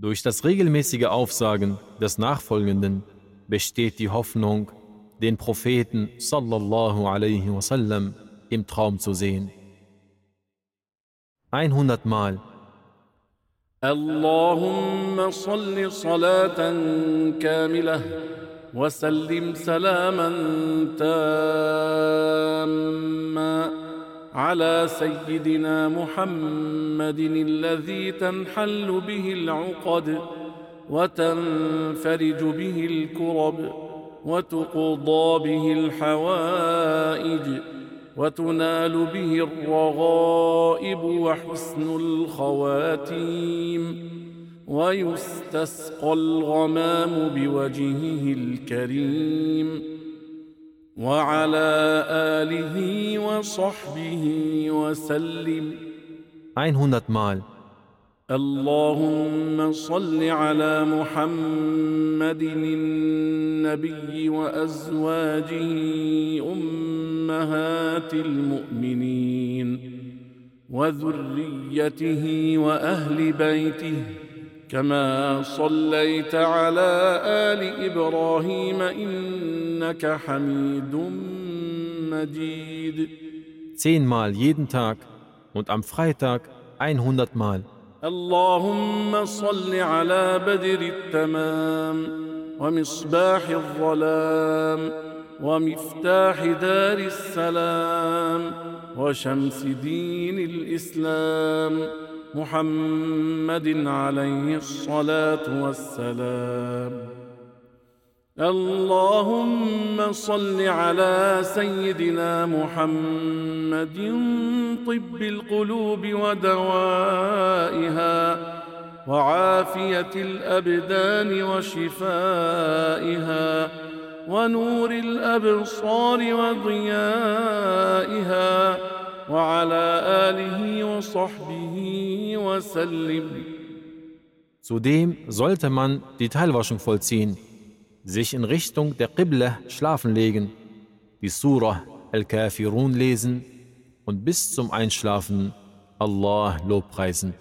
Durch das regelmäßige Aufsagen des Nachfolgenden besteht die Hoffnung, den Propheten sallallahu alaihi wasallam im Traum zu sehen. 100 Mal. اللهم صل صلاة كاملة وسلم سلاما تاما على سيدنا محمد الذي تنحل به العقد وتنفرج به الكرب وتقضى به الحوائج وتنال به الرغائب وحسن الخواتيم ويستسقى الغمام بوجهه الكريم وعلى آله وصحبه وسلم 100 Mal. اللهم صل على محمد النبي وأزواجه أمهات المؤمنين وذريته وأهل بيته كما صليت على آل إبراهيم إنك حميد مجيد 10 Mal jeden Tag und am Freitag 100 Mal. اللهم صل على بدر التمام ومصباح الظلام ومفتاح دار السلام وشمس دين الإسلام محمد عليه الصلاة والسلام. اللهم صل على سيدنا محمد طب القلوب ودوائها وعافية الأبدان وشفائها ونور الأبصار وضيائها وعلى آله وصحبه وسلم. Zudem sollte man die Teilwaschung vollziehen, sich in Richtung der Qibla schlafen legen, die Surah Al-Kafirun lesen und bis zum Einschlafen Allah lobpreisen.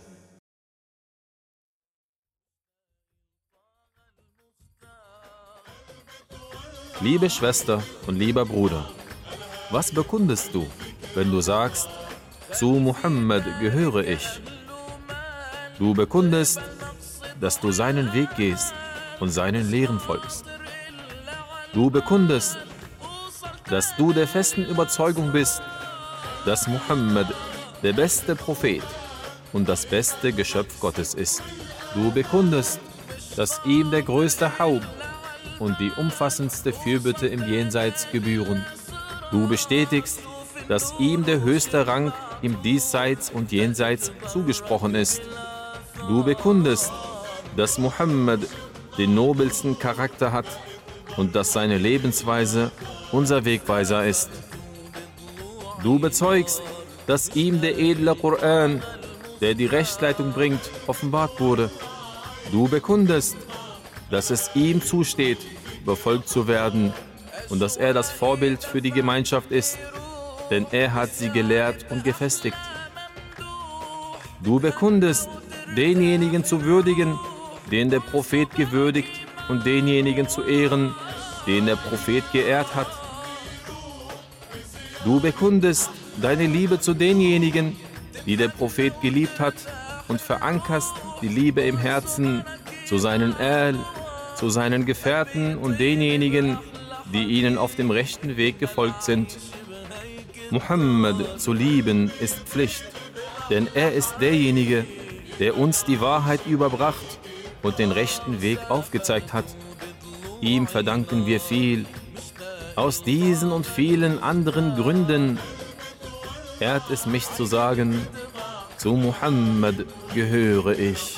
Liebe Schwester und lieber Bruder, was bekundest du, wenn du sagst, zu Muhammad gehöre ich? Du bekundest, dass du seinen Weg gehst und seinen Lehren folgst. Du bekundest, dass du der festen Überzeugung bist, dass Muhammad der beste Prophet und das beste Geschöpf Gottes ist. Du bekundest, dass ihm der größte Haupt und die umfassendste Fürbitte im Jenseits gebühren. Du bestätigst, dass ihm der höchste Rang im Diesseits und Jenseits zugesprochen ist. Du bekundest, dass Muhammad den nobelsten Charakter hat und dass seine Lebensweise unser Wegweiser ist. Du bezeugst, dass ihm der edle Koran, der die Rechtsleitung bringt, offenbart wurde. Du bekundest, dass es ihm zusteht, befolgt zu werden und dass er das Vorbild für die Gemeinschaft ist, denn er hat sie gelehrt und gefestigt. Du bekundest, denjenigen zu würdigen, den der Prophet gewürdigt, und denjenigen zu ehren, den der Prophet geehrt hat. Du bekundest deine Liebe zu denjenigen, die der Prophet geliebt hat, und verankerst die Liebe im Herzen zu seinen zu seinen Gefährten und denjenigen, die ihnen auf dem rechten Weg gefolgt sind. Muhammad zu lieben ist Pflicht, denn er ist derjenige, der uns die Wahrheit überbracht und den rechten Weg aufgezeigt hat. Ihm verdanken wir viel. Aus diesen und vielen anderen Gründen ehrt es mich zu sagen, zu Muhammad gehöre ich.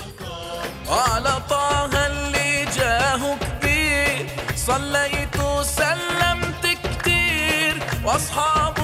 صليت وسلمت كتير واصحابه